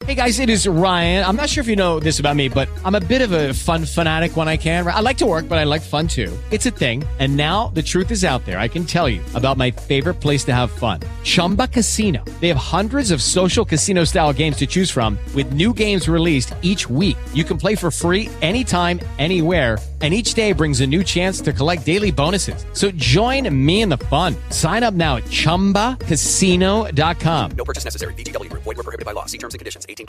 Hey guys, it is Ryan. I'm not sure if you know this about me, but I'm a bit of a fun fanatic when I can. I like to work, but I like fun too. It's a thing. And now the truth is out there. I can tell you about my favorite place to have fun. Chumba Casino. They have hundreds of social casino style games to choose from with new games released each week. You can play for free anytime, anywhere. And each day brings a new chance to collect daily bonuses. So join me in the fun. Sign up now at ChumbaCasino.com. No purchase necessary. VGW Group. Void where prohibited by law. See terms and conditions. 18+.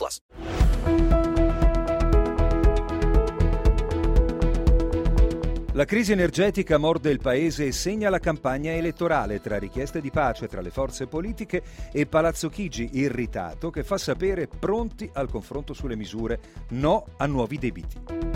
La crisi energetica morde il paese e segna la campagna elettorale tra richieste di pace tra le forze politiche e Palazzo Chigi irritato che fa sapere pronti al confronto sulle misure, no a nuovi debiti.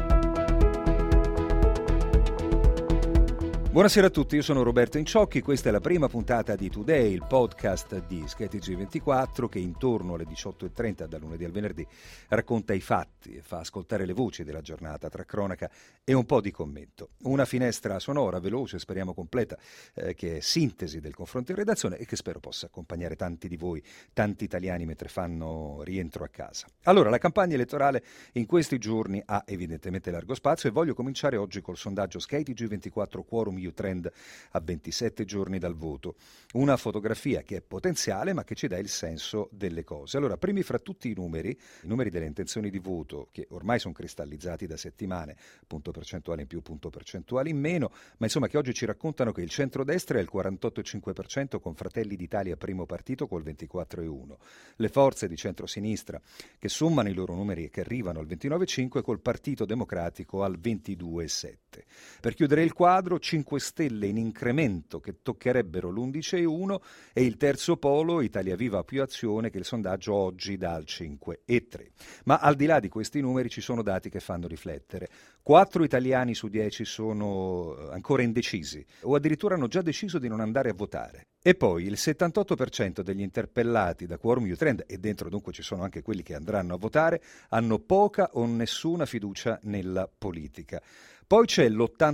Buonasera a tutti, io sono Roberto Inciocchi, questa è la prima puntata di Today, il podcast di SkyTG24 che intorno alle 18.30 dal lunedì al venerdì racconta i fatti e fa ascoltare le voci della giornata tra cronaca e un po' di commento. Una finestra sonora, veloce, speriamo completa, che è sintesi del confronto in redazione e che spero possa accompagnare tanti di voi, tanti italiani mentre fanno rientro a casa. Allora, la campagna elettorale in questi giorni ha evidentemente largo spazio e voglio cominciare oggi col sondaggio SkyTG24 Quorum Trend a 27 giorni dal voto. Una fotografia che è potenziale ma che ci dà il senso delle cose. Allora, primi fra tutti i numeri delle intenzioni di voto che ormai sono cristallizzati da settimane, punto percentuale in più, punto percentuale in meno, ma insomma che oggi ci raccontano che il centrodestra è il 48,5% con Fratelli d'Italia primo partito col 24,1%. Le forze di centrosinistra che sommano i loro numeri e che arrivano al 29,5% col Partito Democratico al 22,7%. Per chiudere il quadro, 5 Stelle in incremento che toccherebbero l'11,1 e il terzo polo, Italia Viva più Azione, che il sondaggio oggi dà al 5,3. Ma al di là di questi numeri ci sono dati che fanno riflettere. 4 italiani su 10 sono ancora indecisi o addirittura hanno già deciso di non andare a votare. E poi il 78% degli interpellati da Quorum Trend, e dentro dunque ci sono anche quelli che andranno a votare, hanno poca o nessuna fiducia nella politica. Poi c'è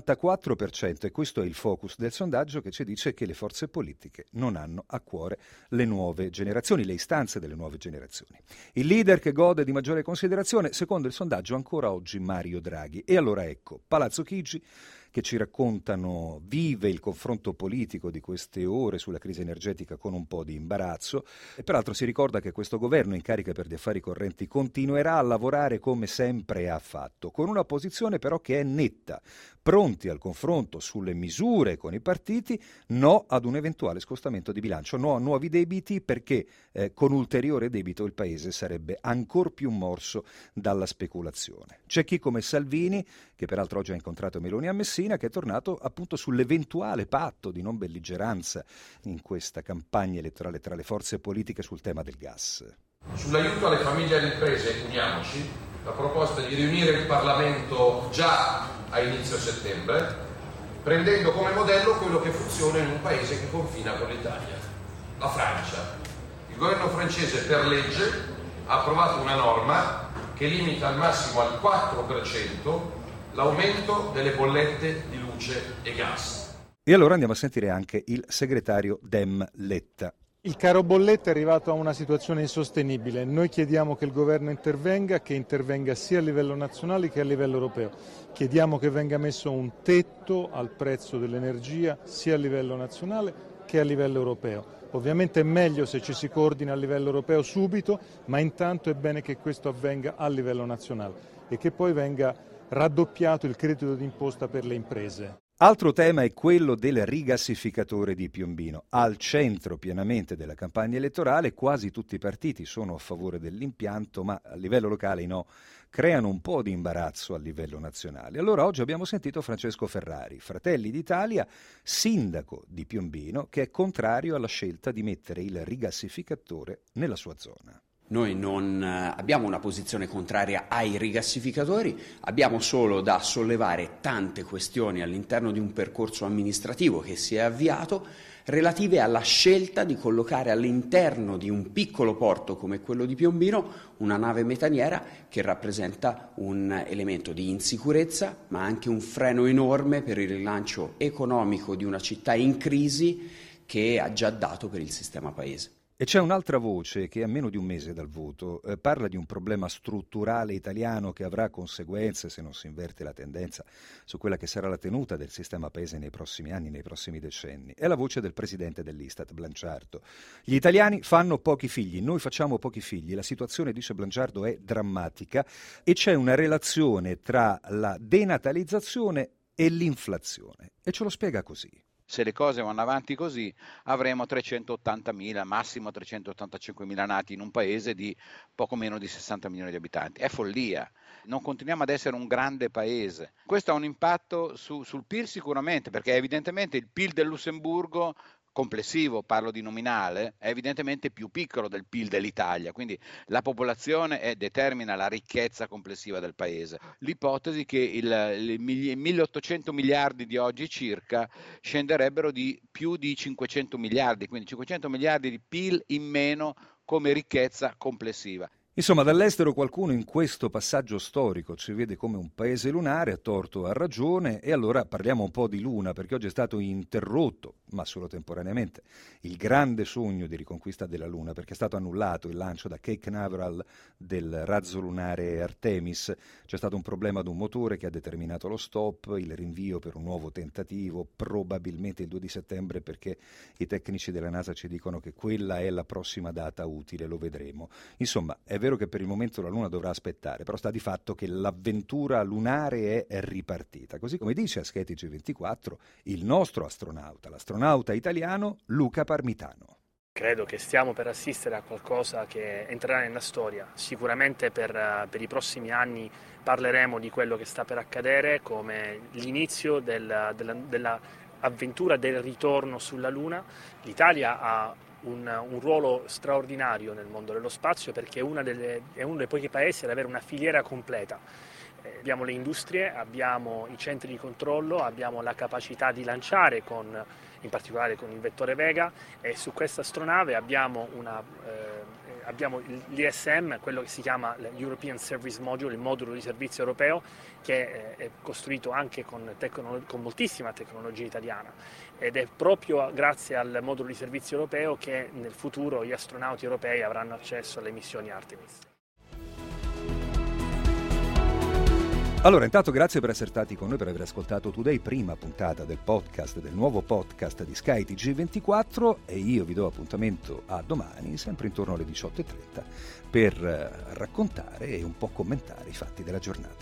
l'84%, e questo è il focus del sondaggio, che ci dice che le forze politiche non hanno a cuore le nuove generazioni, le istanze delle nuove generazioni. Il leader che gode di maggiore considerazione, secondo il sondaggio ancora oggi Mario Draghi. E allora ecco, Palazzo Chigi, che ci raccontano vive il confronto politico di queste ore sulla crisi energetica con un po' di imbarazzo e peraltro si ricorda che questo governo in carica per gli affari correnti continuerà a lavorare come sempre ha fatto, con una posizione però che è netta, pronti al confronto sulle misure con i partiti, no ad un eventuale scostamento di bilancio, no a nuovi debiti perché con ulteriore debito il paese sarebbe ancor più morso dalla speculazione. C'è chi come Salvini, che peraltro oggi ha incontrato Meloni a Messina, che è tornato appunto sull'eventuale patto di non belligeranza in questa campagna elettorale tra le forze politiche sul tema del gas. Sull'aiuto alle famiglie e alle imprese, uniamoci, la proposta di riunire il Parlamento già a inizio settembre, prendendo come modello quello che funziona in un paese che confina con l'Italia, la Francia. Il governo francese per legge ha approvato una norma che limita al massimo al 4% l'aumento delle bollette di luce e gas. E allora andiamo a sentire anche il segretario Dem Letta. Il caro bollette è arrivato a una situazione insostenibile. Noi chiediamo che il governo intervenga, che intervenga sia a livello nazionale che a livello europeo. Chiediamo che venga messo un tetto al prezzo dell'energia sia a livello nazionale che a livello europeo. Ovviamente è meglio se ci si coordina a livello europeo subito, ma intanto è bene che questo avvenga a livello nazionale e che poi venga raddoppiato il credito d'imposta per le imprese. Altro tema è quello del rigassificatore di Piombino, al centro pienamente della campagna elettorale. Quasi tutti i partiti sono a favore dell'impianto, ma a livello locale no, creano un po' di imbarazzo a livello nazionale. Allora oggi abbiamo sentito Francesco Ferrari, Fratelli d'Italia, sindaco di Piombino, che è contrario alla scelta di mettere il rigassificatore nella sua zona. Noi non abbiamo una posizione contraria ai rigassificatori, abbiamo solo da sollevare tante questioni all'interno di un percorso amministrativo che si è avviato relative alla scelta di collocare all'interno di un piccolo porto come quello di Piombino una nave metaniera che rappresenta un elemento di insicurezza ma anche un freno enorme per il rilancio economico di una città in crisi che ha già dato per il sistema paese. E c'è un'altra voce che a meno di un mese dal voto parla di un problema strutturale italiano che avrà conseguenze se non si inverte la tendenza su quella che sarà la tenuta del sistema paese nei prossimi anni, nei prossimi decenni. È la voce del presidente dell'Istat, Blanciardo. Gli italiani fanno pochi figli, noi facciamo pochi figli. La situazione, dice Blanciardo, è drammatica e c'è una relazione tra la denatalizzazione e l'inflazione. E ce lo spiega così. Se le cose vanno avanti così, avremo 380.000, massimo 385.000 nati in un paese di poco meno di 60 milioni di abitanti. È follia. Non continuiamo ad essere un grande paese. Questo ha un impatto sul PIL sicuramente, perché evidentemente il PIL del Lussemburgo complessivo, parlo di nominale, è evidentemente più piccolo del PIL dell'Italia, quindi la popolazione determina la ricchezza complessiva del paese. L'ipotesi che i 1.800 miliardi di oggi circa scenderebbero di più di 500 miliardi, quindi 500 miliardi di PIL in meno come ricchezza complessiva. Insomma, dall'estero qualcuno in questo passaggio storico ci vede come un paese lunare, a torto o a ragione, e allora parliamo un po' di Luna, perché oggi è stato interrotto, ma solo temporaneamente, il grande sogno di riconquista della Luna, perché è stato annullato il lancio da Cape Canaveral del razzo lunare Artemis. C'è stato un problema ad un motore che ha determinato lo stop, il rinvio per un nuovo tentativo, probabilmente il 2 di settembre, perché i tecnici della NASA ci dicono che quella è la prossima data utile, lo vedremo. Insomma, è vero che per il momento la Luna dovrà aspettare, però sta di fatto che l'avventura lunare è ripartita, così come dice a SkyTG24 il nostro astronauta, l'astronauta italiano Luca Parmitano. Credo che stiamo per assistere a qualcosa che entrerà nella storia. Sicuramente per i prossimi anni parleremo di quello che sta per accadere come l'inizio dell'avventura del ritorno sulla Luna. L'Italia ha un ruolo straordinario nel mondo dello spazio perché è uno dei pochi paesi ad avere una filiera completa. Abbiamo le industrie, abbiamo i centri di controllo, abbiamo la capacità di lanciare in particolare con il vettore Vega, e su questa astronave abbiamo l'ISM, quello che si chiama l'European Service Module, il modulo di servizio europeo, che è costruito anche con moltissima tecnologia italiana, ed è proprio grazie al modulo di servizio europeo che nel futuro gli astronauti europei avranno accesso alle missioni Artemis. Allora, intanto grazie per essere stati con noi, per aver ascoltato Today, prima puntata del podcast, del nuovo podcast di SkyTG24, e io vi do appuntamento a domani, sempre intorno alle 18:30, per raccontare e un po' commentare i fatti della giornata.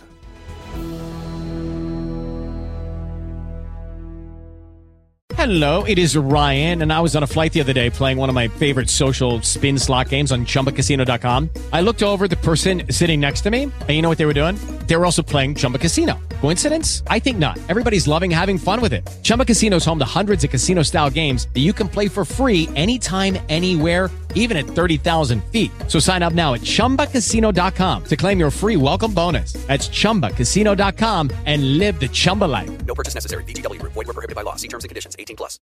Hello, it is Ryan, and I was on a flight the other day playing one of my favorite social spin slot games on ChumbaCasino.com. I looked over at the person sitting next to me, and you know what they were doing? They were also playing Chumba Casino. Coincidence? I think not. Everybody's loving having fun with it. Chumba Casino is home to hundreds of casino-style games that you can play for free anytime, anywhere, even at 30,000 feet. So sign up now at ChumbaCasino.com to claim your free welcome bonus. That's ChumbaCasino.com and live the Chumba life. No purchase necessary. VGW Group. Void where prohibited by law. See terms and conditions. 18+.